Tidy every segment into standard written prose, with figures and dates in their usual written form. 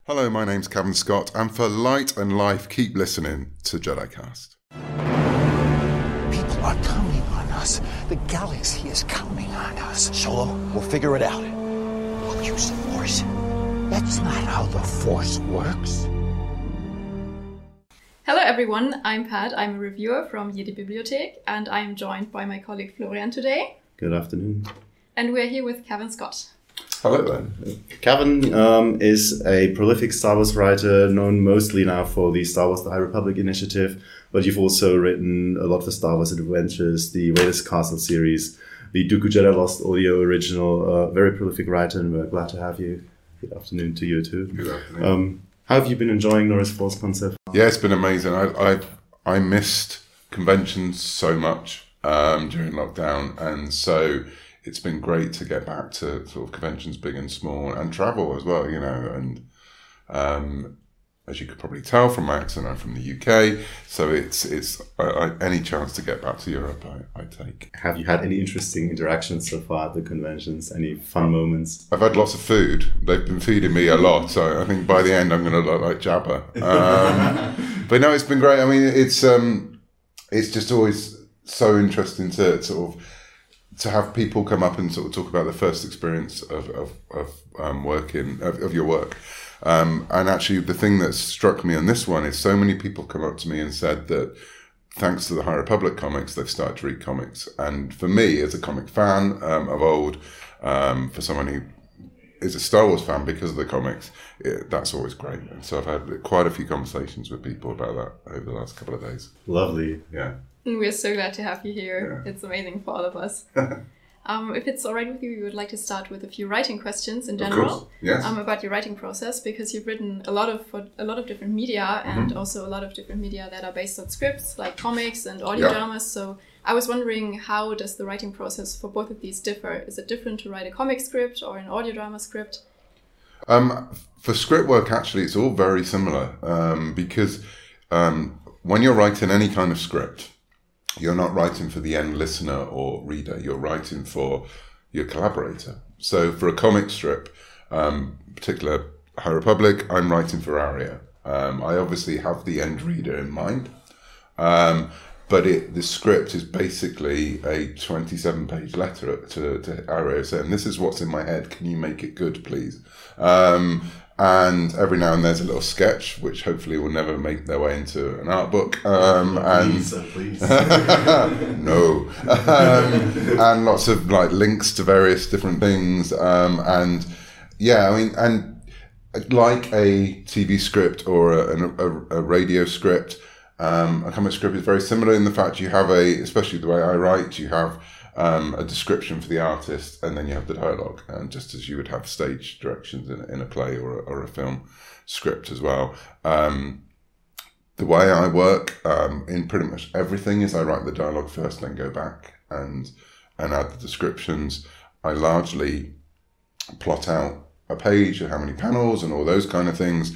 Hello, my name's Cavan Scott, and for Light and Life, keep listening to JediCast. People are counting on us. The galaxy is counting on us. Solo, we'll figure it out. We'll use the Force. That's not how the Force works. Hello everyone, I'm Pat, I'm a reviewer from Jedi Bibliothek, and I'm joined by my colleague Florian today. Good afternoon. And we're here with Cavan Scott. Hello there. Cavan is a prolific Star Wars writer, known mostly now for the Star Wars The High Republic initiative, but you've also written a lot for Star Wars Adventures, the Vader's Castle series, the Dooku Jedi Lost audio original. Very prolific writer, and we're glad to have you. Good afternoon to you too. Good afternoon. How have you been enjoying Norris Force Concept? Yeah, it's been amazing. I missed conventions so much during lockdown, and so it's been great to get back to sort of conventions, big and small, and travel as well, you know. And as you could probably tell from my accent, I'm from the UK, so it's any chance to get back to Europe, I take. Have you had any interesting interactions so far at the conventions? Any fun moments? I've had lots of food. They've been feeding me a lot, so I think by the end I'm going to look like Jabba. But no, it's been great. I mean, it's just always so interesting to sort of to have people come up and sort of talk about the first experience of your work. And actually, the thing that struck me on this one is so many people come up to me and said that thanks to the High Republic comics, they've started to read comics. And for me, as a comic fan of old, for someone who is a Star Wars fan because of the comics, that's always great. And so I've had quite a few conversations with people about that over the last couple of days. Lovely. Yeah. And we're so glad to have you here. Yeah. It's amazing for all of us. If it's all right with you, we would like to start with a few writing questions in general. Of course, yes. About your writing process, because you've written a lot of different media, and also a lot of different media that are based on scripts, like comics and audio dramas. So I was wondering, how does the writing process for both of these differ? Is it different to write a comic script or an audio drama script? For script work, actually, it's all very similar because when you're writing any kind of script, you're not writing for the end listener or reader, you're writing for your collaborator. So for a comic strip, particular High Republic, I'm writing for Aria. I obviously have the end reader in mind, but the script is basically a 27-page letter to Aria saying, this is what's in my head, can you make it good, please? And every now and there's a little sketch, which hopefully will never make their way into an art book. Please. No. And lots of like links to various different things. And yeah, I mean, and like a TV script or a radio script, a comic script is very similar in the fact you have especially the way I write, you have a description for the artist, and then you have the dialogue, and just as you would have stage directions in a play or a film script as well. The way I work in pretty much everything is I write the dialogue first, then go back and add the descriptions. I largely plot out a page and how many panels and all those kind of things,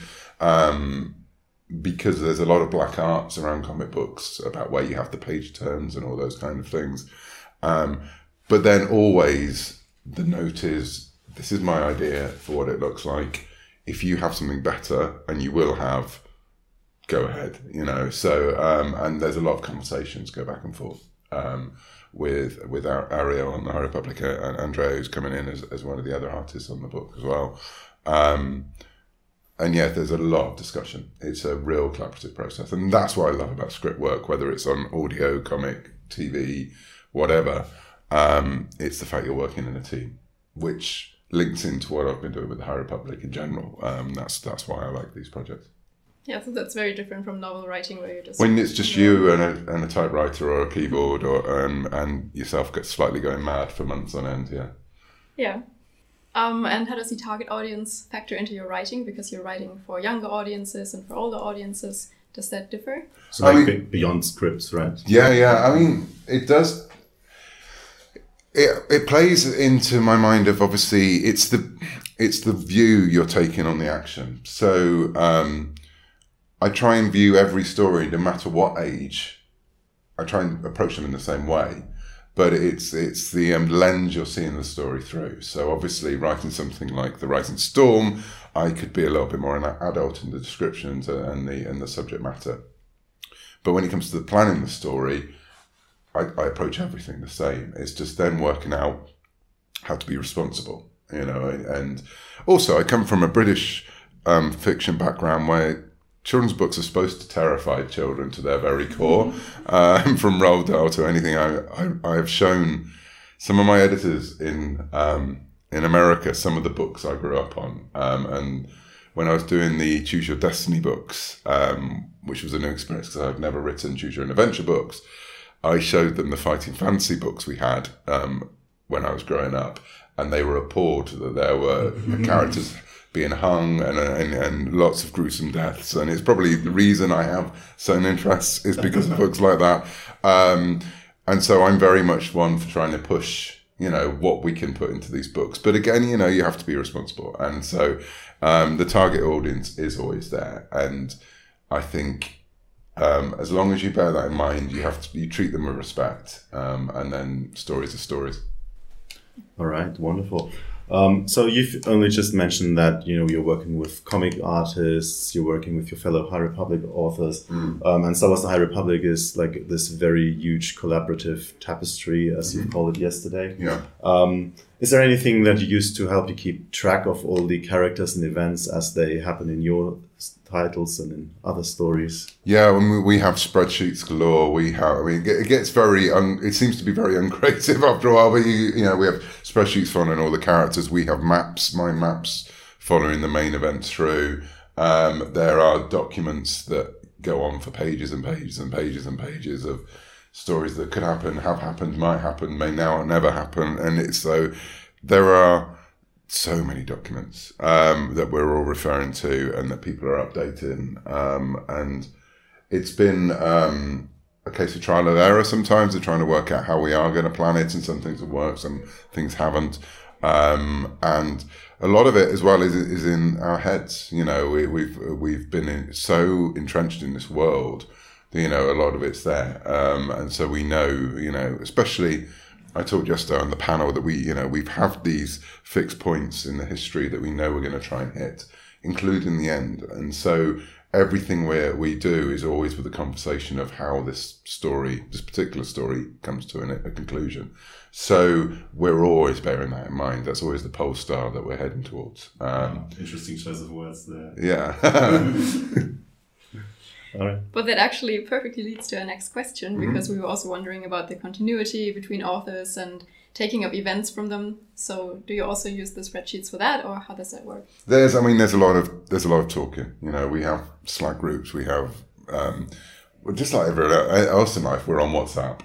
because there's a lot of black arts around comic books about where you have the page turns and all those kind of things. But then always the note is, this is my idea for what it looks like. If you have something better, and you will have, go ahead, you know. So, and there's a lot of conversations go back and forth with Ariel on the High Republic, and Andrea, who's coming in as one of the other artists on the book as well. And yeah, there's a lot of discussion. It's a real collaborative process. And that's what I love about script work, whether it's on audio, comic, TV, whatever. It's the fact you're working in a team, which links into what I've been doing with the High Republic in general. That's why I like these projects. Yeah, so that's very different from novel writing, where you're just... When it's just you and a typewriter or a keyboard, or and yourself gets slightly going mad for months on end, yeah. Yeah. And how does the target audience factor into your writing? Because you're writing for younger audiences and for older audiences. Does that differ? So like beyond scripts, right? Yeah. I mean, it does. It plays into my mind of, obviously it's the view you're taking on the action. So I try and view every story, no matter what age. I try and approach them in the same way. But it's the lens you're seeing the story through. So obviously, writing something like The Rising Storm, I could be a little bit more an adult in the descriptions and the subject matter. But when it comes to planning the story, I approach everything the same. It's just then working out how to be responsible, and also I come from a British fiction background where children's books are supposed to terrify children to their very core. From Roald Dahl to anything, I have shown some of my editors in America some of the books I grew up on, and when I was doing the Choose Your Destiny books, which was a new experience because I'd never written Choose Your Own Adventure books, I showed them the Fighting Fantasy books we had when I was growing up, and they were appalled that there were characters being hung and lots of gruesome deaths. And it's probably the reason I have certain interests is because of books like that. And so I'm very much one for trying to push, what we can put into these books. But again, you have to be responsible. And so the target audience is always there. And I think as long as you bear that in mind, you treat them with respect, and then stories are stories. All right, wonderful. So you've only just mentioned that you're working with comic artists, you're working with your fellow High Republic authors, and Star Wars: The High Republic is like this very huge collaborative tapestry, as you called it yesterday. Yeah. Is there anything that you use to help you keep track of all the characters and events as they happen in your titles and in other stories? Yeah, when we have spreadsheets galore. It gets very, it seems to be very uncreative after a while, but we have spreadsheets following all the characters. We have mind maps following the main events through. There are documents that go on for pages and pages and pages and pages of stories that could happen, have happened, might happen, may now or never happen. And there are so many documents that we're all referring to and that people are updating. And it's been a case of trial and error sometimes of trying to work out how we are going to plan it, and some things have worked, some things haven't. And a lot of it as well is in our heads. We've been so entrenched in this world that, a lot of it's there. And so we know, especially I talked yesterday on the panel that we've had these fixed points in the history that we know we're going to try and hit, including the end. And so everything we do is always with the conversation of how this particular story comes to a conclusion. So we're always bearing that in mind. That's always the pole star that we're heading towards. Interesting choice of words there. Yeah. All right. But that actually perfectly leads to our next question, because we were also wondering about the continuity between authors and taking up events from them. So do you also use the spreadsheets for that, or how does that work? There's a lot of talking. We have Slack groups, we have just like everyone else in life, we're on WhatsApp.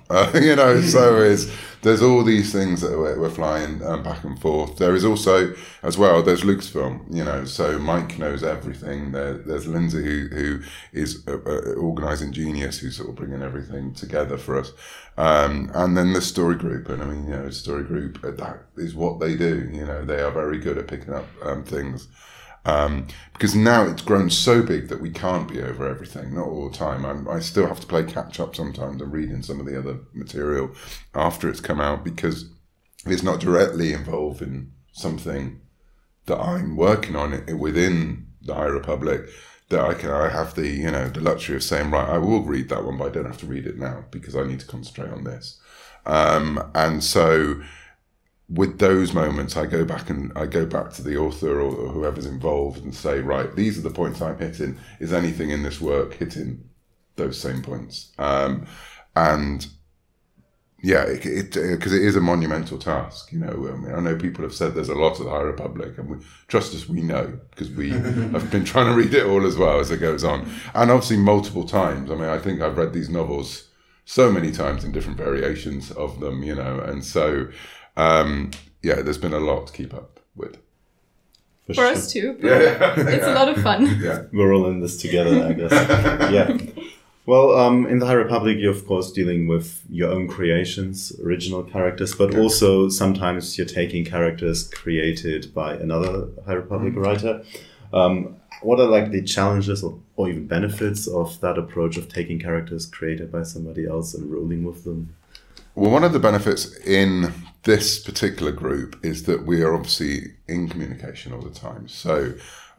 So there's all these things that we're flying back and forth. There is also, as well, there's Lucasfilm, so Mike knows everything. There's Lindsay who is an organising genius who's sort of bringing everything together for us. And then the story group, and story group, that is what they do. They are very good at picking up things. Because now it's grown so big that we can't be over everything, not all the time. I still have to play catch up sometimes and reading some of the other material after it's come out, because it's not directly involved in something that I'm working on within the High Republic, that I have the the luxury of saying, right, I will read that one, but I don't have to read it now because I need to concentrate on this. And so with those moments, I go back to the author or whoever's involved and say, right, these are the points I'm hitting. Is anything in this work hitting those same points? And yeah, because it is a monumental task. I know people have said there's a lot of the High Republic, and trust us, we know, because we have been trying to read it all as well as it goes on, and obviously multiple times. I think I've read these novels so many times in different variations of them, and so. There's been a lot to keep up with. For us too. It's a lot of fun. Yeah. We're all in this together, I guess. Yeah. Well, in the High Republic, you're of course dealing with your own creations, original characters, but also sometimes you're taking characters created by another High Republic writer. What are like the challenges or even benefits of that approach of taking characters created by somebody else and rolling with them? Well, one of the benefits in this particular group is that we are obviously in communication all the time. So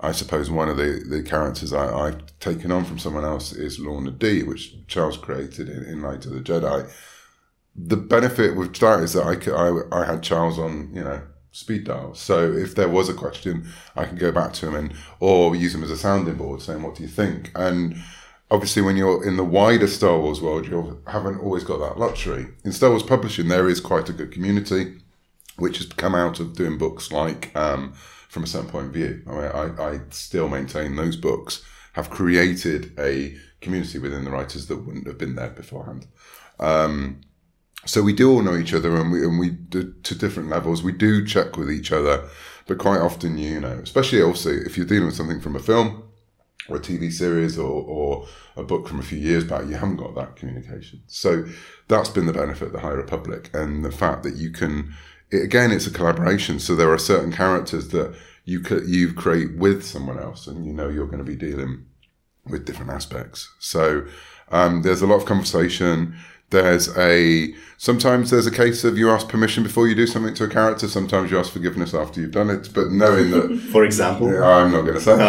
I suppose one of the characters I've taken on from someone else is Lorna D, which Charles created in Light of the Jedi. The benefit with that is that I had Charles on, speed dial. So if there was a question, I can go back to him or use him as a sounding board saying, what do you think? And obviously when you're in the wider Star Wars world, you haven't always got that luxury. In Star Wars publishing, there is quite a good community, which has come out of doing books like From a Certain Point of View. I still maintain those books have created a community within the writers that wouldn't have been there beforehand. So we do all know each other, and we do, to different levels. We do check with each other, but quite often, especially also if you're dealing with something from a film or a TV series or a book from a few years back, you haven't got that communication. So that's been the benefit of the High Republic, and the fact that you can. It's a collaboration. So there are certain characters that you create with someone else, and you're going to be dealing with different aspects. So there's a lot of conversation. Sometimes there's a case of you ask permission before you do something to a character. Sometimes you ask forgiveness after you've done it, but knowing that. For example, I'm not going to say.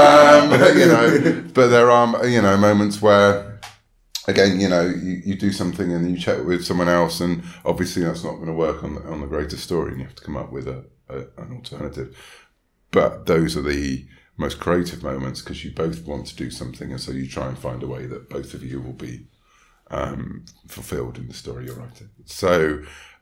But there are moments where, again, you do something and you check with someone else, and obviously that's not going to work on the greater story, and you have to come up with an alternative. But those are the most creative moments because you both want to do something, and so you try and find a way that both of you will be fulfilled in the story you're writing. So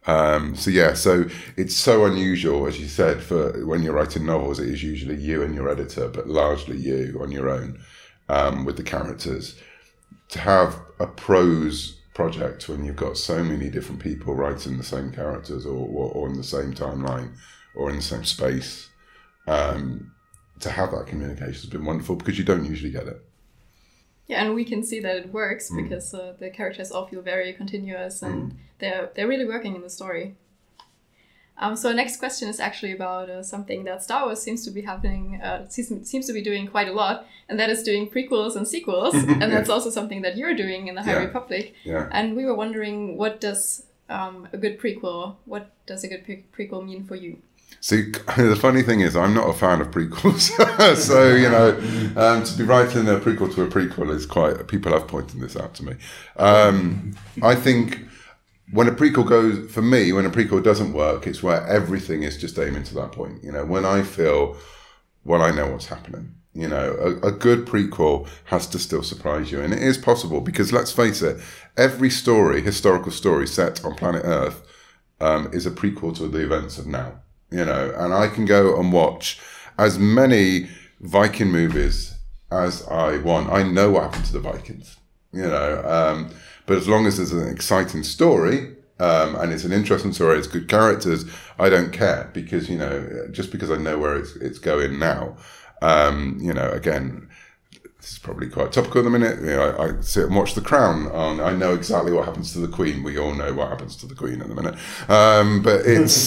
it's so unusual, as you said, for when you're writing novels, it is usually you and your editor, but largely you on your own with the characters. To have a prose project when you've got so many different people writing the same characters or in the same timeline or in the same space, to have that communication has been wonderful because you don't usually get it. Yeah, and we can see that it works because the characters all feel very continuous and they're really working in the story. So our next question is actually about something that Star Wars seems to be doing quite a lot, and that is doing prequels and sequels, and that's also something that you're doing in the High Republic. Yeah. And we were wondering, what does a good prequel mean for you? See, the funny thing is, I'm not a fan of prequels. So, to be writing a prequel to a prequel is people have pointed this out to me. I think when a prequel doesn't work, it's where everything is just aiming to that point. When I feel, I know what's happening. A good prequel has to still surprise you. And it is possible because, let's face it, every historical story set on planet Earth is a prequel to the events of now. And I can go and watch as many Viking movies as I want. I know what happened to the Vikings, but as long as there's an exciting story, and it's an interesting story, it's good characters, I don't care because, just because I know where it's going now, again, this is probably quite topical at the minute. I sit and watch The Crown. I know exactly what happens to the Queen. We all know what happens to the Queen at the minute. But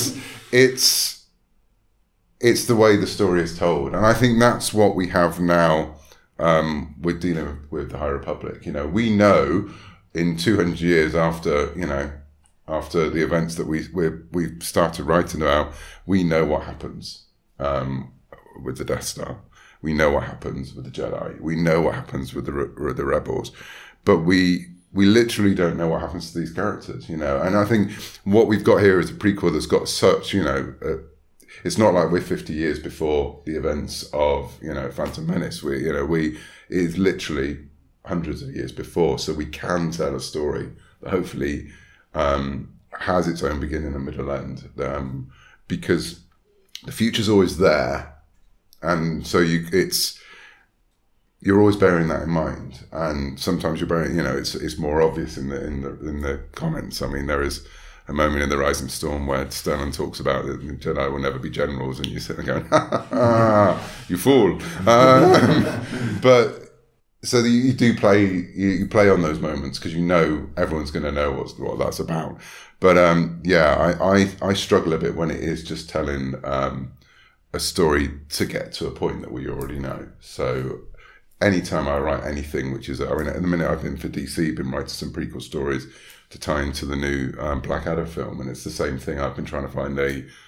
it's the way the story is told. And I think that's what we have now with dealing with the High Republic. We know in 200 years after the events that we've started writing about, we know what happens with the Death Star. We know what happens with the Jedi. We know what happens with the rebels. But we literally don't know what happens to these characters, And I think what we've got here is a prequel that's got such, it's not like we're 50 years before the events of, Phantom Menace. It's literally hundreds of years before. So we can tell a story that hopefully has its own beginning and middle end, because the future's always there. And so you're always bearing that in mind. And sometimes you're bearing, it's more obvious in the comments. I mean, there is a moment in The Rising Storm where Stellan talks about it, and Jedi will never be generals, and you sit there going, you fool. But so you do play on those moments because everyone's going to know what that's about. But I struggle a bit when it is just telling a story to get to a point that we already know. So anytime I write anything, at the minute I've been for DC, been writing some prequel stories to tie into the new Black Adder film, and it's the same thing. I've been trying to find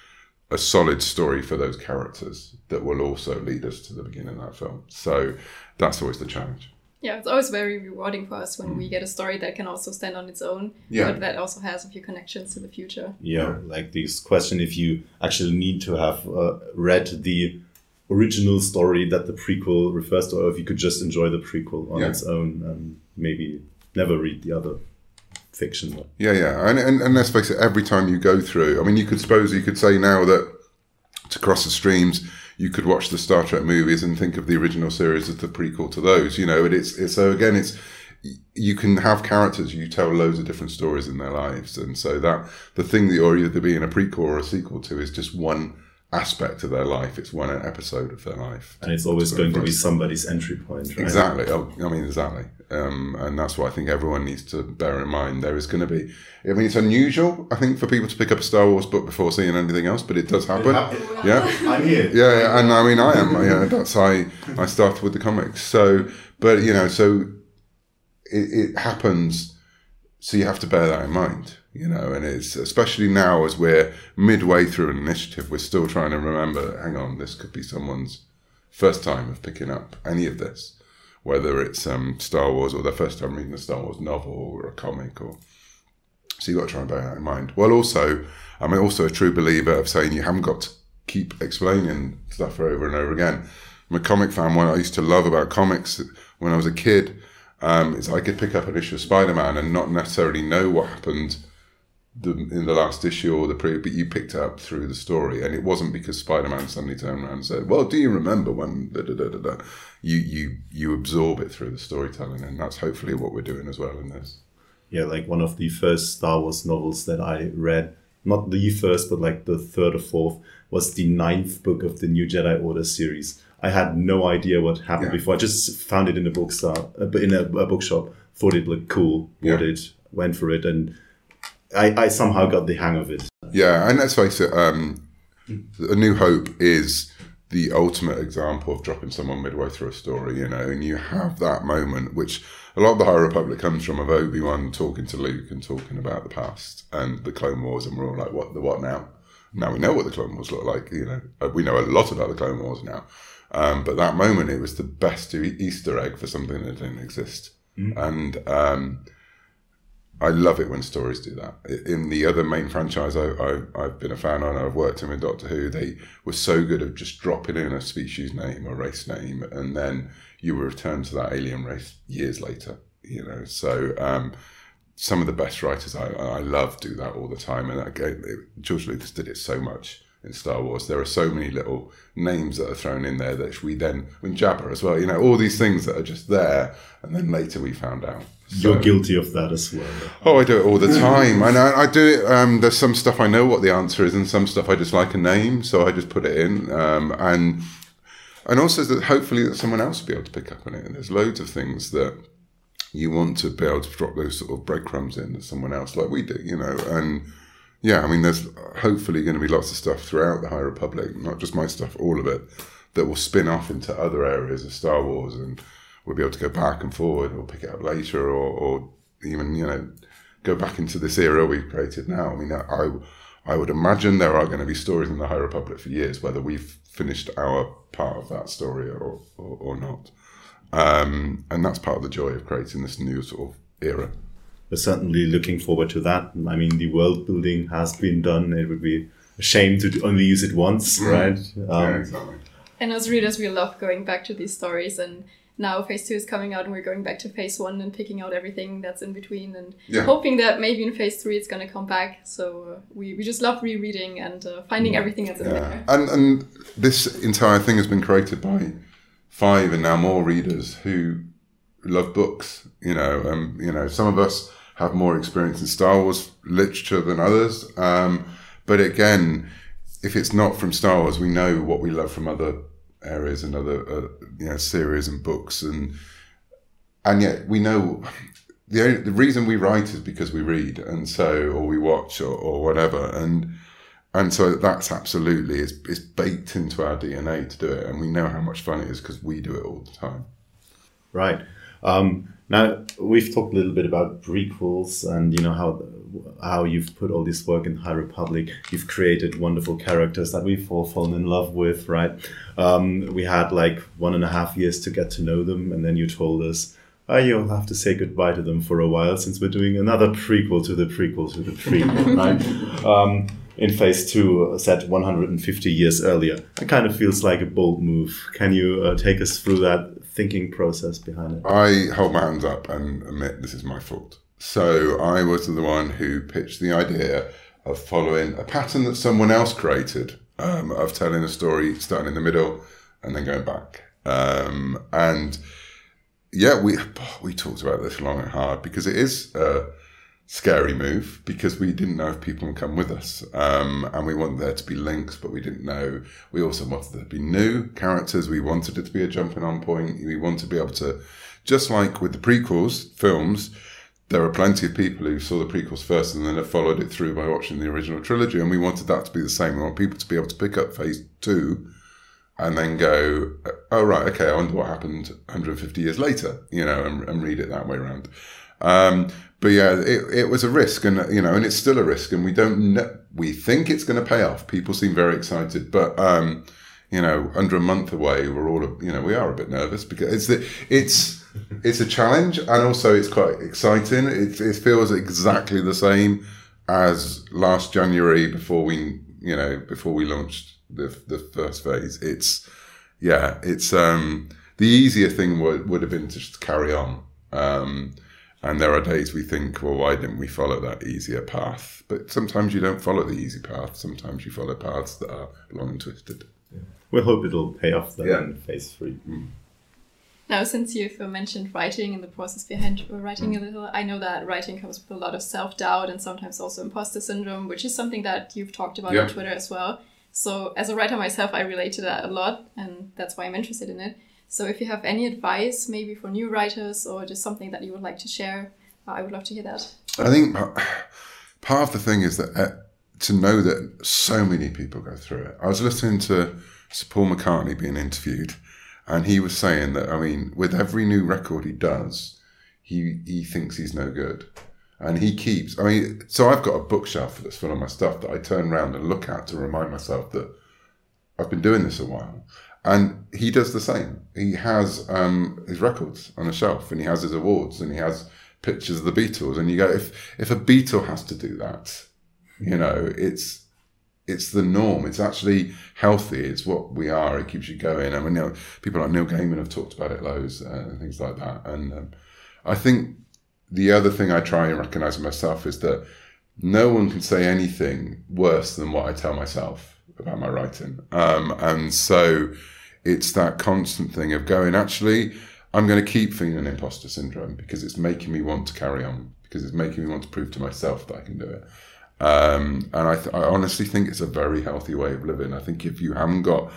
a solid story for those characters that will also lead us to the beginning of that film. So that's always the challenge. Yeah, it's always very rewarding for us when we get a story that can also stand on its own, but that also has a few connections to the future. Yeah, like this question, if you actually need to have read the original story that the prequel refers to, or if you could just enjoy the prequel on its own and maybe never read the other fiction. Yeah. And let's face it, every time you go through, I mean, you could say now that to cross the streams, you could watch the Star Trek movies and think of the original series as the prequel to those, and it's so again, you can have characters, you tell loads of different stories in their lives. And so that the thing that you're either being a prequel or a sequel to is just one aspect of their life. It's one episode of their life. And it's always going to be somebody's entry point, right? Exactly. Exactly. And that's what I think everyone needs to bear in mind. There is going to be, it's unusual, I think, for people to pick up a Star Wars book before seeing anything else, but it does happen. Yeah. I'm here. Yeah. And I am. That's I started with the comics. So, but, so it happens. So you have to bear that in mind. And it's especially now as we're midway through an initiative, we're still trying to remember, hang on, this could be someone's first time of picking up any of this, whether it's Star Wars or their first time reading a Star Wars novel or a comic. So you've got to try and bear that in mind. Well, also, I'm also a true believer of saying you haven't got to keep explaining stuff over and over again. I'm a comic fan. What I used to love about comics when I was a kid is I could pick up an issue of Spider-Man and not necessarily know what happened in the last issue or the previous, but you picked it up through the story, and it wasn't because Spider-Man suddenly turned around and said, "Well, do you remember when?" You absorb it through the storytelling, and that's hopefully what we're doing as well in this. Yeah, like one of the first Star Wars novels that I read, not the first, but like the third or fourth, was the 9th book of the New Jedi Order series. I had no idea what happened before. I just found it in a bookshop, thought it looked cool, bought it, went for it, and I somehow got the hang of it. Yeah, and let's face it, A New Hope is the ultimate example of dropping someone midway through a story, and you have that moment, which a lot of the High Republic comes from, of Obi-Wan talking to Luke and talking about the past and the Clone Wars, and we're all like, what now? Now we know what the Clone Wars look like, we know a lot about the Clone Wars now. But that moment, it was the best Easter egg for something that didn't exist. And I love it when stories do that. In the other main franchise I've been a fan of, I've worked in with Doctor Who, they were so good at just dropping in a species name or race name, and then you were returned to that alien race years later. So some of the best writers I love do that all the time. And again, George Lucas did it so much in Star Wars. There are so many little names that are thrown in there that we then, in Jabba as well, all these things that are just there, and then later we found out. So, you're guilty of that as well. Oh, I do it all the time. I do it. There's some stuff I know what the answer is, and some stuff I just like a name, so I just put it in. And also that hopefully that someone else will be able to pick up on it. And there's loads of things that you want to be able to drop those sort of breadcrumbs in to someone else, like we do, And yeah, there's hopefully going to be lots of stuff throughout the High Republic, not just my stuff, all of it, that will spin off into other areas of Star Wars, and we'll be able to go back and forward or pick it up later or even, go back into this era we've created now. I would imagine there are going to be stories in the High Republic for years, whether we've finished our part of that story or not. And that's part of the joy of creating this new sort of era. We're certainly looking forward to that. The world building has been done. It would be a shame to only use it once, right? Yeah, exactly. And as readers, we love going back to these stories, and now Phase 2 is coming out and we're going back to Phase 1 and picking out everything that's in between and hoping that maybe in Phase 3 it's going to come back. So we just love rereading and finding everything that's in there. And this entire thing has been created by 5 and now more readers who love books. Some of us have more experience in Star Wars literature than others. But again, if it's not from Star Wars, we know what we love from other areas and other series and books, and yet we know the reason we write is because we read, and so or we watch or whatever, and so that's absolutely it's baked into our DNA to do it, and we know how much fun it is because we do it all the time. Right. Now, we've talked a little bit about prequels and, you know, how you've put all this work in High Republic. You've created wonderful characters that we've all fallen in love with, right? We had like 1.5 years to get to know them, and then you told us, you'll have to say goodbye to them for a while since we're doing another prequel to the prequel to the prequel, right? In phase 2, set 150 years earlier. It kind of feels like a bold move. Can you take us through that thinking process behind it? I hold my hands up and admit this is my fault. So I was the one who pitched the idea of following a pattern that someone else created, of telling a story starting in the middle and then going back. And yeah, we talked about this long and hard because it is a scary move because we didn't know if people would come with us. And we wanted there to be links, but we didn't know. We also wanted there to be new characters. We wanted it to be a jumping on point. We want to be able to, just like with the prequels, films, there are plenty of people who saw the prequels first and then have followed it through by watching the original trilogy. And we wanted that to be the same. We want people to be able to pick up phase 2 and then go, oh, right, okay, I wonder what happened 150 years later, you know, and read it that way around. But yeah, it was a risk, and you know, and it's still a risk, and we don't know, we think it's going to pay off. People seem very excited, but you know, under a month away, we're all, you know, we are a bit nervous because it's a challenge, and also it's quite exciting. It feels exactly the same as last January before we launched the first phase. It's the easier thing would have been to just carry on. And there are days we think, well, why didn't we follow that easier path? But sometimes you don't follow the easy path. Sometimes you follow paths that are long and twisted. Yeah. We'll hope it'll pay off then in phase 3. Mm. Now, since you've mentioned writing and the process behind writing a little, I know that writing comes with a lot of self-doubt and sometimes also imposter syndrome, which is something that you've talked about on Twitter as well. So as a writer myself, I relate to that a lot, and that's why I'm interested in it. So if you have any advice, maybe for new writers or just something that you would like to share, I would love to hear that. I think part of the thing is that to know that so many people go through it. I was listening to Sir Paul McCartney being interviewed, and he was saying that, I mean, with every new record he does, he thinks he's no good. And he keeps, I mean, so I've got a bookshelf that's full of my stuff that I turn around and look at to remind myself that I've been doing this a while. And he does the same. He has his records on a shelf, and he has his awards, and he has pictures of the Beatles. And you go, if a Beatle has to do that, you know, it's the norm. It's actually healthy. It's what we are. It keeps you going. I mean, you know, people like Neil Gaiman have talked about it loads and things like that. And I think the other thing I try and recognise in myself is that no one can say anything worse than what I tell myself about my writing. And so it's that constant thing of going, actually, I'm going to keep feeling imposter syndrome because it's making me want to carry on, because it's making me want to prove to myself that I can do it. And I honestly think it's a very healthy way of living. I think if you haven't got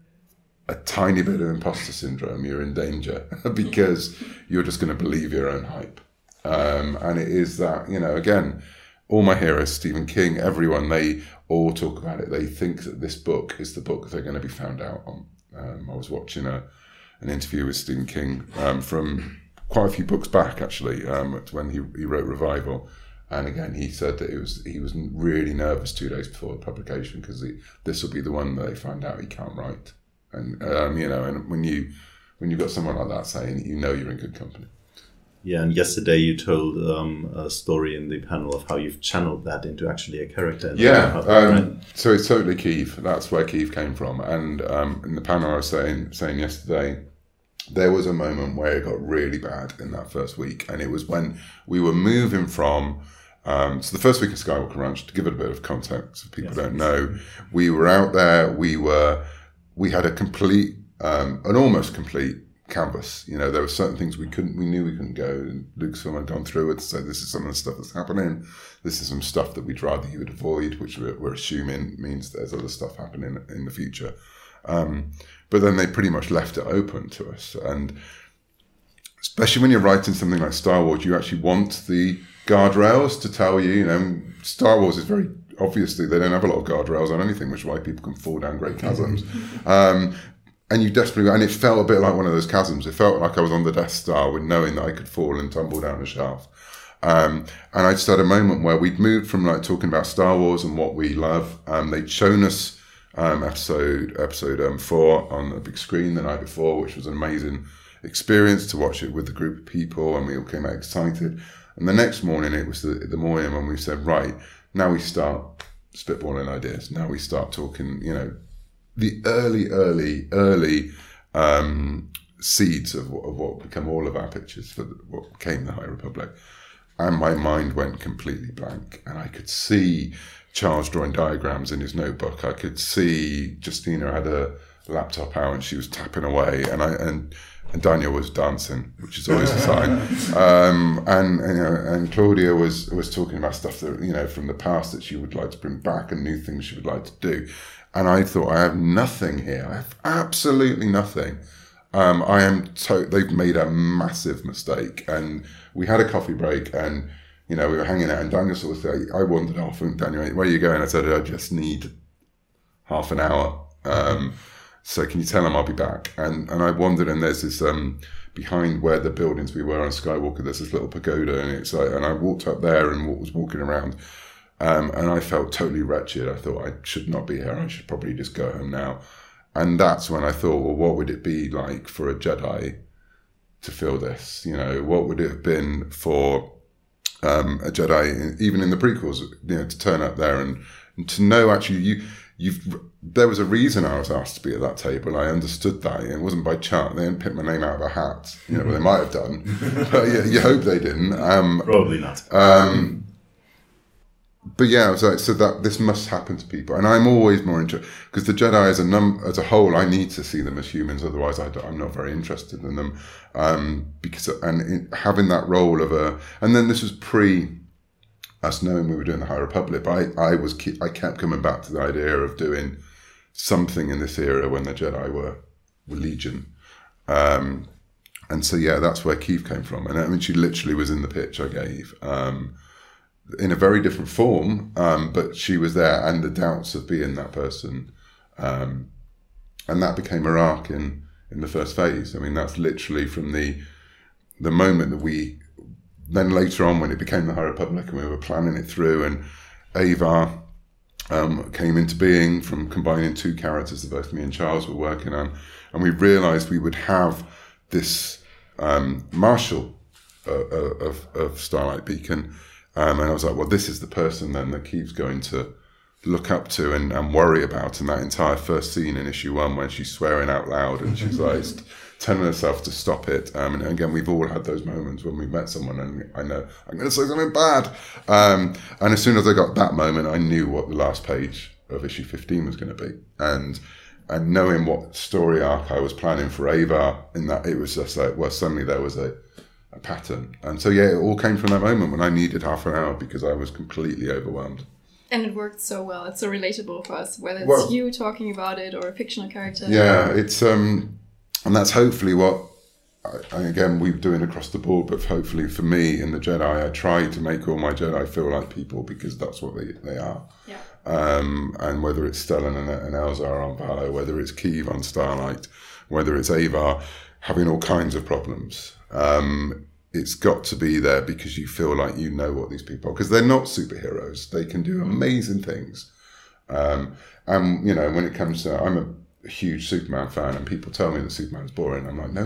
a tiny bit of imposter syndrome, you're in danger because you're just going to believe your own hype. And it is that, you know, again, all my heroes, Stephen King, everyone, they all talk about it. They think that this book is the book they're going to be found out on. I was watching an interview with Stephen King from quite a few books back, actually, when he wrote Revival. And again, he said that he was really nervous 2 days before the publication because this will be the one that they find out he can't write. And you know, and when you've got someone like that saying it, you know you're in good company. Yeah, and yesterday you told a story in the panel of how you've channeled that into actually a character. So it's totally Keith. That's where Keith came from. And in the panel I was saying yesterday, there was a moment where it got really bad in that first week. And it was when we were moving from... so the first week of Skywalker Ranch, to give it a bit of context, if people don't know, we were out there, we had a complete, an almost complete canvas. You know, there were certain things we knew we couldn't go, and Lucasfilm had gone through it to say, this is some of the stuff that's happening, this is some stuff that we'd rather you would avoid, which we're assuming means there's other stuff happening in the future. But then they pretty much left it open to us, and especially when you're writing something like Star Wars, you actually want the guardrails to tell you, you know, Star Wars is very, obviously they don't have a lot of guardrails on anything, which is why people can fall down great chasms. and you desperately, and it felt a bit like one of those chasms. It felt like I was on the Death Star with knowing that I could fall and tumble down a shaft. And I just had a moment where we'd moved from like talking about Star Wars and what we love. They'd shown us episode 4 on the big screen the night before, which was an amazing experience to watch it with a group of people, and we all came out excited. And the next morning it was the morning when we said, right, now we start spitballing ideas. Now we start talking, you know, the early seeds of what become all of our pictures for what became the High Republic. And my mind went completely blank, and I could see Charles drawing diagrams in his notebook. I could see Justina had a laptop out and she was tapping away, and Daniel was dancing, which is always a sign. And Claudia was talking about stuff that, you know, from the past that she would like to bring back and new things she would like to do. And I thought, I have nothing here. I have absolutely nothing. They've made a massive mistake. And we had a coffee break, and, you know, we were hanging out, and Daniel sort of said, I wandered off, and Daniel went, where are you going? I said, I just need half an hour. So can you tell him I'll be back? And I wandered, and there's this, behind where the buildings we were on Skywalker, there's this little pagoda, and it's like, and I walked up there and was walking around, and I felt totally wretched. I thought I should not be here. I should probably just go home now. And that's when I thought, well, what would it be like for a Jedi to feel this? You know, what would it have been for a Jedi, even in the prequels, you know, to turn up there and to know actually there was a reason I was asked to be at that table. I understood that. It wasn't by chance. They didn't pick my name out of a hat. You know, well, they might have done, but you hope they didn't. Probably not. But yeah, I was like, so that this must happen to people, and I'm always more interested because the Jedi as a whole, I need to see them as humans. Otherwise, I'm not very interested in them. Having that role of and then this was pre us knowing we were doing the High Republic. But I kept coming back to the idea of doing something in this era when the Jedi were Legion. And so yeah, that's where Keeve came from. And I mean, she literally was in the pitch I gave. In a very different form, but she was there, and the doubts of being that person, and that became her arc in the first phase. I mean, that's literally from the moment that then later on when it became the High Republic and we were planning it through, and Ava came into being from combining two characters that both me and Charles were working on, and we realised we would have this marshal of Starlight Beacon. And I was like, well, this is the person then that Keeve's going to look up to and worry about. And that entire first scene in issue 1 when she's swearing out loud and she's like telling herself to stop it. And again, we've all had those moments when we've met someone and I know I'm going to say something bad. And as soon as I got that moment, I knew what the last page of issue 15 was going to be. And knowing what story arc I was planning for Ava, in that it was just like, well, suddenly there was a pattern. And so yeah, it all came from that moment when I needed half an hour because I was completely overwhelmed. And it worked so well. It's so relatable for us, whether it's you talking about it or a fictional character. Yeah, it's and that's hopefully what again we're doing across the board, but hopefully for me in the Jedi, I try to make all my Jedi feel like people because that's what they are. Yeah. And whether it's Stellan and Elzar on Valo, whether it's Keeve on Starlight, whether it's Ava having all kinds of problems, it's got to be there because you feel like you know what these people are, because they're not superheroes. They can do amazing things. And, you know, when it comes to, I'm a huge Superman fan and people tell me that Superman's boring. I'm like, no,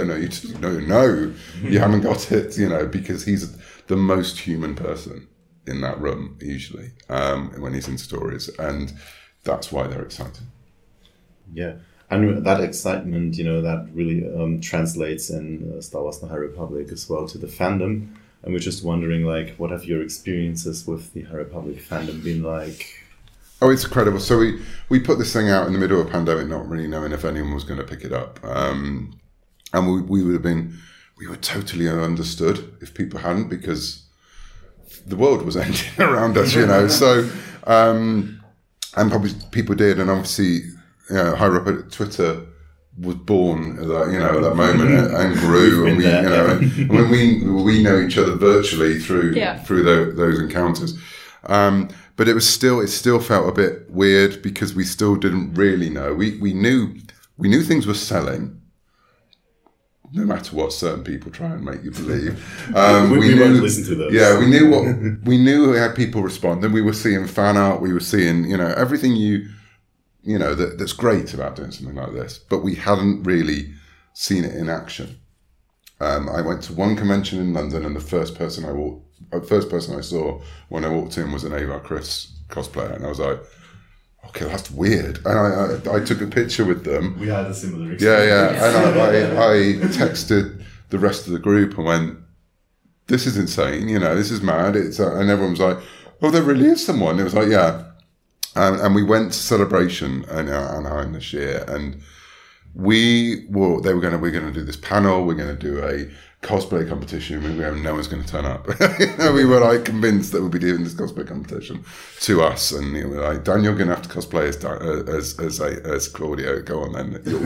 you haven't got it, you know, because he's the most human person in that room, usually, when he's in stories. And that's why they're exciting. Yeah. And that excitement, you know, that really translates in Star Wars The High Republic as well to the fandom. And we're just wondering, like, what have your experiences with the High Republic fandom been like? Oh, it's incredible. So we put this thing out in the middle of a pandemic, not really knowing if anyone was going to pick it up. And we were totally understood if people hadn't, because the world was ending around us, you know. So, and probably people did. And obviously, you know, High Republic Twitter was born at that, you know, at that moment and grew, and we, you know, and when we know each other virtually through those encounters. But it still felt a bit weird because we still didn't really know. We knew we knew things were selling, no matter what certain people try and make you believe. We won't listen to those. Yeah, we knew how people responded. We were seeing fan art. We were seeing, everything that's great about doing something like this. But we hadn't really seen it in action. I went to one convention in London, and the first person I saw when I walked in was an Ava Chris cosplayer, and I was like, okay, that's weird. And I took a picture with them. We had a similar experience. Yeah. And I texted the rest of the group and went, this is insane, this is mad. And everyone was like, oh, there really is someone. It was like, yeah. And we went to Celebration in Anaheim this year, and we're going to do this panel, we're going to do a cosplay competition, no one's going to turn up. We were like convinced that we'd be doing this cosplay competition to us, and we were like, Dan, you're going to have to cosplay as Claudio. Go on then, you'll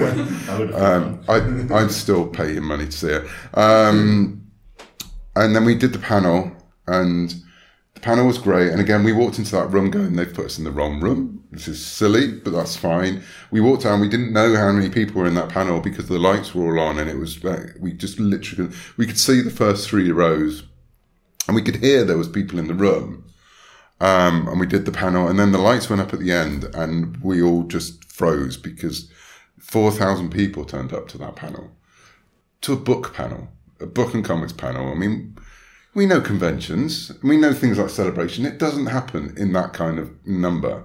win. I'd still pay him money to see it. And then we did the panel, and the panel was great. And again, we walked into that room going, they've put us in the wrong room. This is silly, but that's fine. We walked down, we didn't know how many people were in that panel because the lights were all on, and it was, we could see the first 3 rows, and we could hear there was people in the room. And we did the panel, and then the lights went up at the end, and we all just froze because 4,000 people turned up to that panel, to a book panel, a book and comics panel. I mean, we know conventions, we know things like Celebration. It doesn't happen in that kind of number.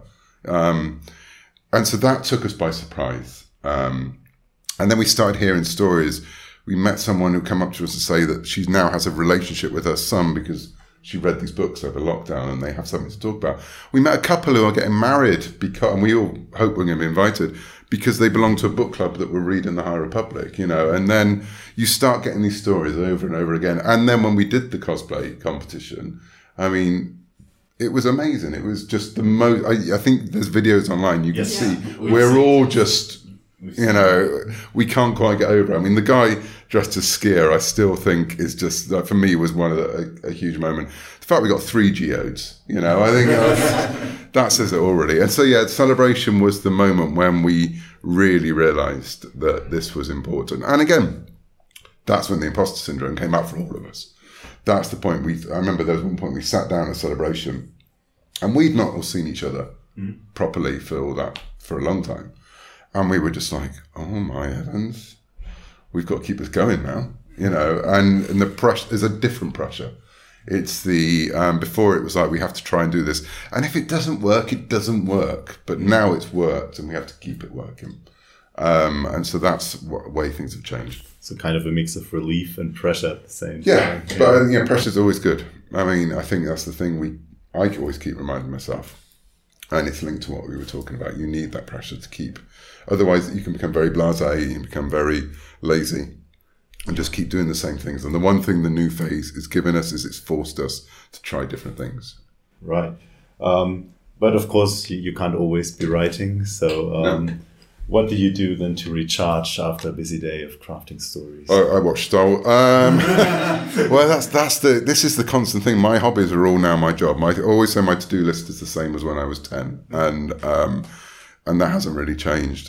And so that took us by surprise. And then we started hearing stories. We met someone who came up to us to say that she now has a relationship with her son because she read these books over lockdown and they have something to talk about. We met a couple who are getting married and we all hope we're going to be invited because they belong to a book club that were reading the High Republic, and then you start getting these stories over and over again. And then when we did the cosplay competition, I mean, it was amazing. It was just the most, I think there's videos online you can see. We're all just, we can't quite get over it. I mean, the guy dressed as Skier, I still think is just, for me, was one of a huge moment. The fact we got 3 geodes, I think that says it already. And so, Celebration was the moment when we really realised that this was important. And again, that's when the imposter syndrome came up for all of us. That's the point. I remember there was one point we sat down at Celebration, and we'd not all seen each other properly for a long time, and we were just like, "Oh my heavens, we've got to keep this going now," And the pressure is a different pressure. It's the before it was like we have to try and do this, and if it doesn't work, it doesn't work. But now it's worked, and we have to keep it working. And so that's the way things have changed. So kind of a mix of relief and pressure at the same time. Yeah, but pressure's always good. I mean, I think that's the thing I always keep reminding myself. And it's linked to what we were talking about. You need that pressure to keep. Otherwise, you can become very blasé, you can become very lazy and just keep doing the same things. And the one thing the new phase has given us is it's forced us to try different things. Right. But of course, you can't always be writing. So No. What do you do then to recharge after a busy day of crafting stories? I watch Star Wars. Well, this is the constant thing. My hobbies are all now my job. I always say my to-do list is the same as when I was 10, and that hasn't really changed.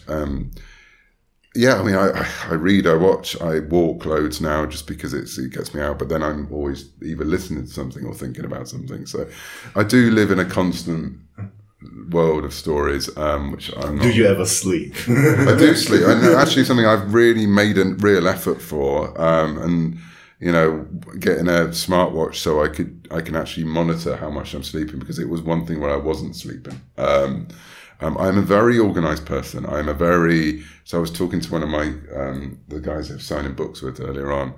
Yeah, I mean, I read, I watch, I walk loads now just because it gets me out. But then I'm always either listening to something or thinking about something. So I do live in a constant world of stories, which I'm not. Do you ever sleep? I do sleep, and actually something I've really made a real effort for, and getting a smartwatch so I can actually monitor how much I'm sleeping, because it was one thing where I wasn't sleeping. I'm a very organized person. So I was talking to one of my the guys I've signing books with earlier on.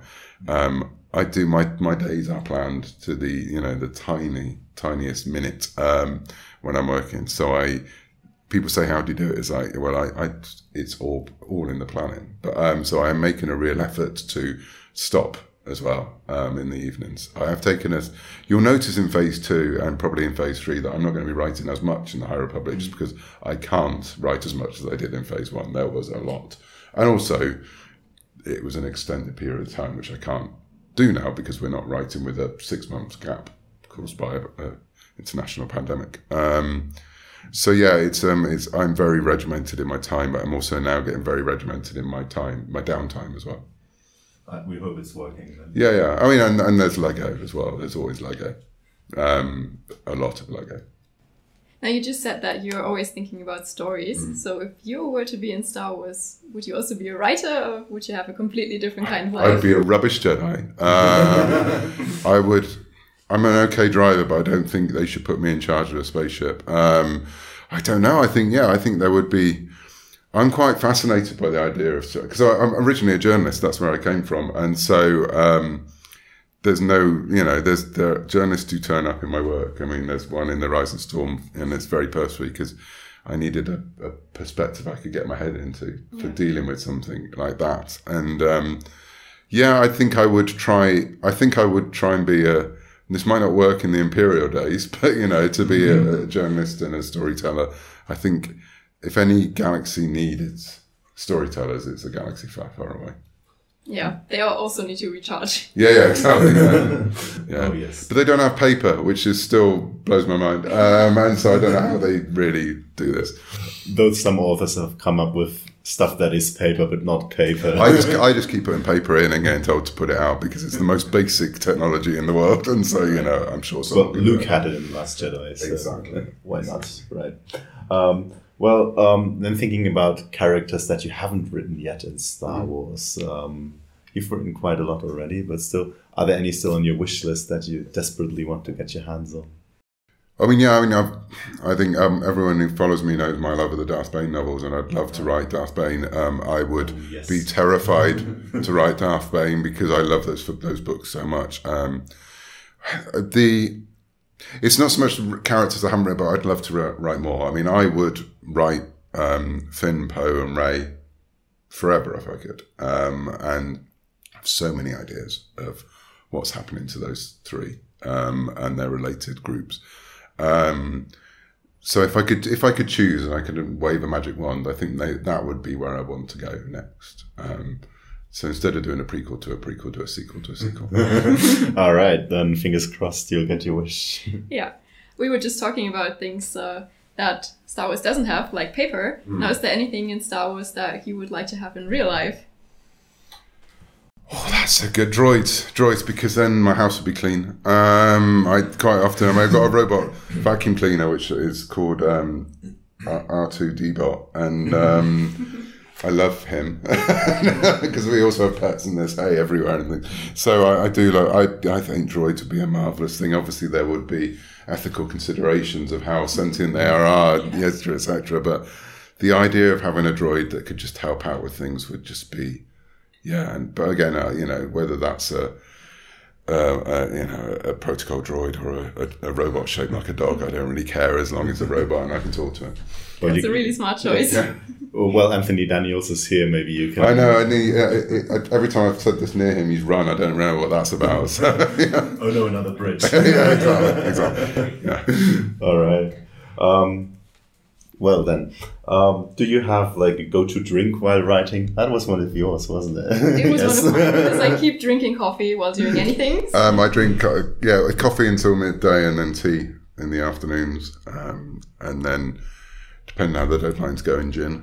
I do my days are planned to the tiniest minute when I'm working. So people say, how do you do it? It's like, well, it's all in the planning. But so I'm making a real effort to stop as well in the evenings. I have taken you'll notice in phase 2 and probably in phase 3 that I'm not going to be writing as much in the High Republic, just because I can't write as much as I did in phase 1. There was a lot. And also, it was an extended period of time, which I can't do now because we're not writing with a 6 months gap caused by an international pandemic. So yeah, it's I'm very regimented in my time, but I'm also now getting very regimented in my downtime as well. We hope it's working then. Yeah. I mean, and there's Lego as well. There's always Lego. A lot of Lego. Now, you just said that you're always thinking about stories. So if you were to be in Star Wars, would you also be a writer, or would you have a completely different kind of life? I'd be a rubbish Jedi. I would. I'm an okay driver, but I don't think they should put me in charge of a spaceship. I don't know. I think there would be. I'm quite fascinated by the idea of, because I'm originally a journalist. That's where I came from, and so. There's no, the journalists who turn up in my work. I mean, there's one in The Rising Storm, and it's very personal because I needed a perspective I could get my head into for dealing with something like that. And I think I would try and be this might not work in the Imperial days, but to be a journalist and a storyteller. I think if any galaxy needed storytellers, it's a galaxy far, far away. Yeah, they also need to recharge. Yeah, exactly. Yeah. Oh, yes. But they don't have paper, which is still blows my mind. And so I don't know how they really do this. Though some authors have come up with stuff that is paper but not paper. I just keep putting paper in and getting told to put it out because it's the most basic technology in the world. And so, I'm sure Well, Luke had it in Last Jedi. So exactly. Why not? Right. Then thinking about characters that you haven't written yet in Star Wars, you've written quite a lot already, but still, are there any still on your wish list that you desperately want to get your hands on? I think everyone who follows me knows my love of the Darth Bane novels, and I'd love to write Darth Bane. I would be terrified to write Darth Bane because I love those books so much. It's not so much characters I haven't read, but I'd love to write more. I mean, I would write Finn, Poe, and Rey forever if I could. And I have so many ideas of what's happening to those three and their related groups. So if I could choose and I could wave a magic wand, I think that would be where I want to go next. So instead of doing a prequel to a prequel, do a sequel to a sequel. All right, then fingers crossed you'll get your wish. Yeah, we were just talking about things that Star Wars doesn't have, like paper. Now, is there anything in Star Wars that you would like to have in real life? Oh, that's a good droids, because then my house would be clean. I've got a robot vacuum cleaner which is called R2D-Bot, and I love him because we also have pets and there's hay everywhere and things. So I think droids would be a marvelous thing. Obviously, there would be ethical considerations of how sentient they are, etc. But the idea of having a droid that could just help out with things would just be, But again, whether that's a protocol droid or a robot shaped like a dog, I don't really care as long as it's a robot and I can talk to it. Well, That's a really smart choice. Yeah. Well, Anthony Daniels is here. Maybe you can. I know. Every time I've said this near him, he's run. I don't know what that's about. So, yeah. Oh no, another bridge. Yeah, exactly. Yeah. All right. Well then, do you have like a go-to drink while writing? That was one of yours, wasn't it? It was one of mine, because I keep drinking coffee while doing anything. I drink coffee until midday and then tea in the afternoons, and then depending how the deadline's going, gin.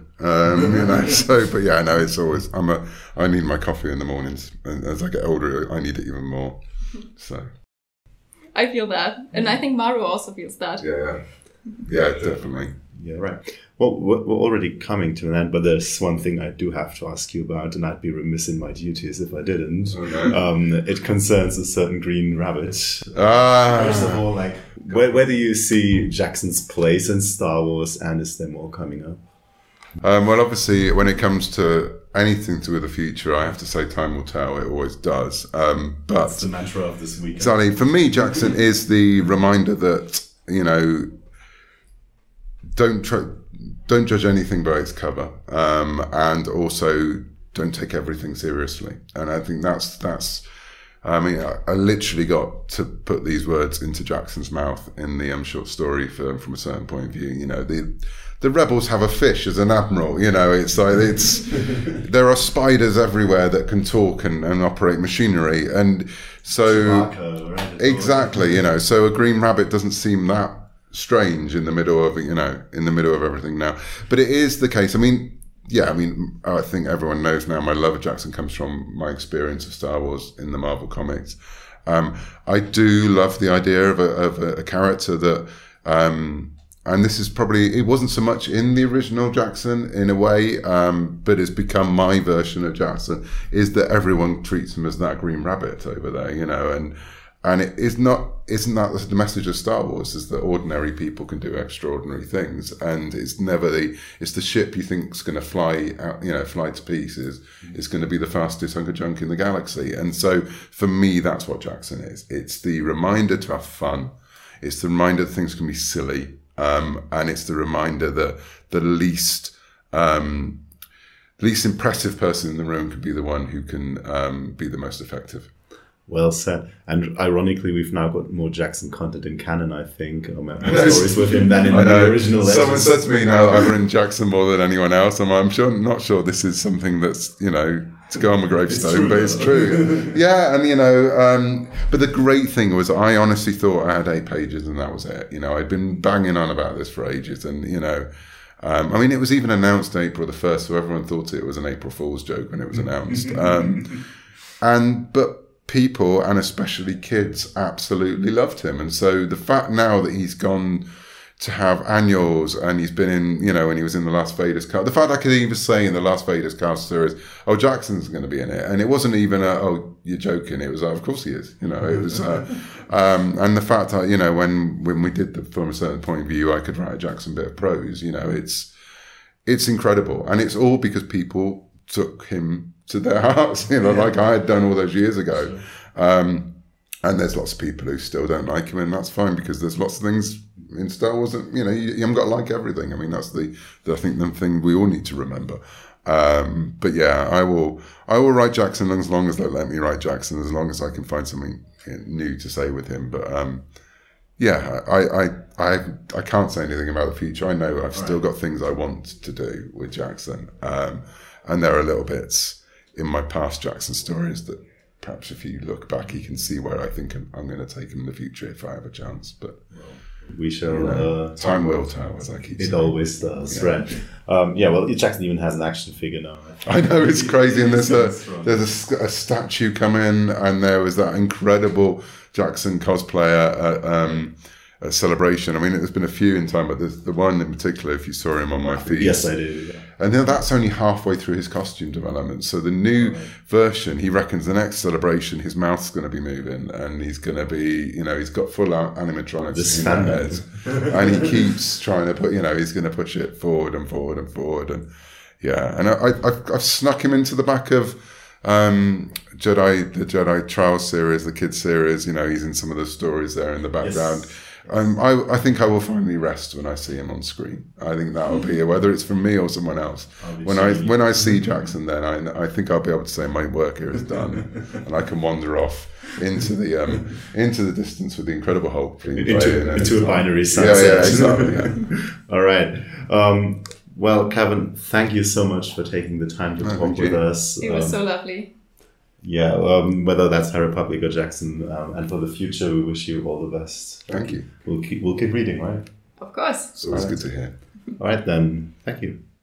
It's always I need my coffee in the mornings, and as I get older, I need it even more. So I feel that, and I think Maru also feels that. Yeah, definitely. Yeah, right. Well, we're already coming to an end, but there's one thing I do have to ask you about, and I'd be remiss in my duties if I didn't. Okay. It concerns a certain green rabbit. First of all, where do you see Jackson's place in Star Wars, and is there more coming up? Well, obviously, when it comes to anything to do with the future, I have to say time will tell. It always does. But that's the mantra of this weekend. Exactly. For me, Jackson is the reminder that, don't judge anything by its cover, and also don't take everything seriously. And I think that's. I mean, I literally got to put these words into Jackson's mouth in the short story from a certain point of view. The rebels have a fish as an admiral. It's like there are spiders everywhere that can talk and operate machinery, and so Chewbacca, right? Exactly. So a green rabbit doesn't seem that strange in the middle of everything now. But it is the case. I mean, I think everyone knows now my love of Jackson comes from my experience of Star Wars in the Marvel comics. I do love the idea of a character that, and this is probably, it wasn't so much in the original Jackson in a way, but it's become my version of Jackson, is that everyone treats him as that Green Rabbit over there, and isn't that the message of Star Wars, is that ordinary people can do extraordinary things, and it's never it's the ship you think is going to fly out, fly to pieces, is going to be the fastest hunk of junk in the galaxy. And so for me, that's what Jackson is. It's the reminder to have fun. It's the reminder that things can be silly. And it's the reminder that the least impressive person in the room can be the one who can be the most effective. Well said. And ironically, we've now got more Jackson content in canon, I think, or more stories with him than in the original Legends. Someone said to me now, I've written Jackson more than anyone else. I'm not sure this is something that's, to go on my gravestone, but it's true. Yeah, and but the great thing was, I honestly thought I had 8 pages and that was it. I'd been banging on about this for ages, and I mean, it was even announced April the 1st, so everyone thought it was an April Fool's joke when it was announced. But people, and especially kids, absolutely loved him. And so the fact now that he's gone to have annuals, and he's been in, when he was in the last Vader's cast, the fact I could even say in the last Vader's cast series, oh, Jackson's going to be in it. And it wasn't even oh, you're joking. It was, of course he is. It was, and the fact that, when we did from a certain point of view, I could write a Jackson bit of prose, it's incredible. And it's all because people took him to their hearts, like I had done all those years ago. And there's lots of people who still don't like him, and that's fine, because there's lots of things in Star Wars that, you haven't got to like everything. I mean, that's I think the thing we all need to remember. But yeah, I will write Jackson as long as they let me write Jackson, as long as I can find something new to say with him. But yeah, I can't say anything about the future. I know I've still got things I want to do with Jackson. And there are little bits in my past Jackson stories that perhaps if you look back, you can see where I think I'm going to take him in the future if I have a chance. But we shall. Time will tell, as I keep saying. It always does, right? Well, Jackson even has an action figure now. I know, it's crazy. And there's a statue come in, and there was that incredible Jackson cosplayer at Celebration. I mean, there's been a few in time, but there's the one in particular, if you saw him on my feed. Yes, I do. Yeah. And that's only halfway through his costume development. So the new version, he reckons the next Celebration, his mouth's going to be moving, and he's going to be, he's got full animatronics in his head. And he keeps trying to put, he's going to push it forward and forward and forward. And yeah, and I've snuck him into the back of the Jedi Trials series, the kids series. He's in some of the stories there in the background. Yes. I think I will finally rest when I see him on screen. I think that will be, whether it's from me or someone else. When I see Jackson, then I think I'll be able to say my work here is done, and I can wander off into the distance with the Incredible Hulk into a binary sunset. Yeah, exactly. Yeah. All right. Well, Kevin, thank you so much for taking the time to talk with us. It was so lovely. Yeah, whether that's High Republic or Jackson, and for the future, we wish you all the best. Thank you. We'll keep reading, right? Of course. It's always good to hear. All right, then. Thank you.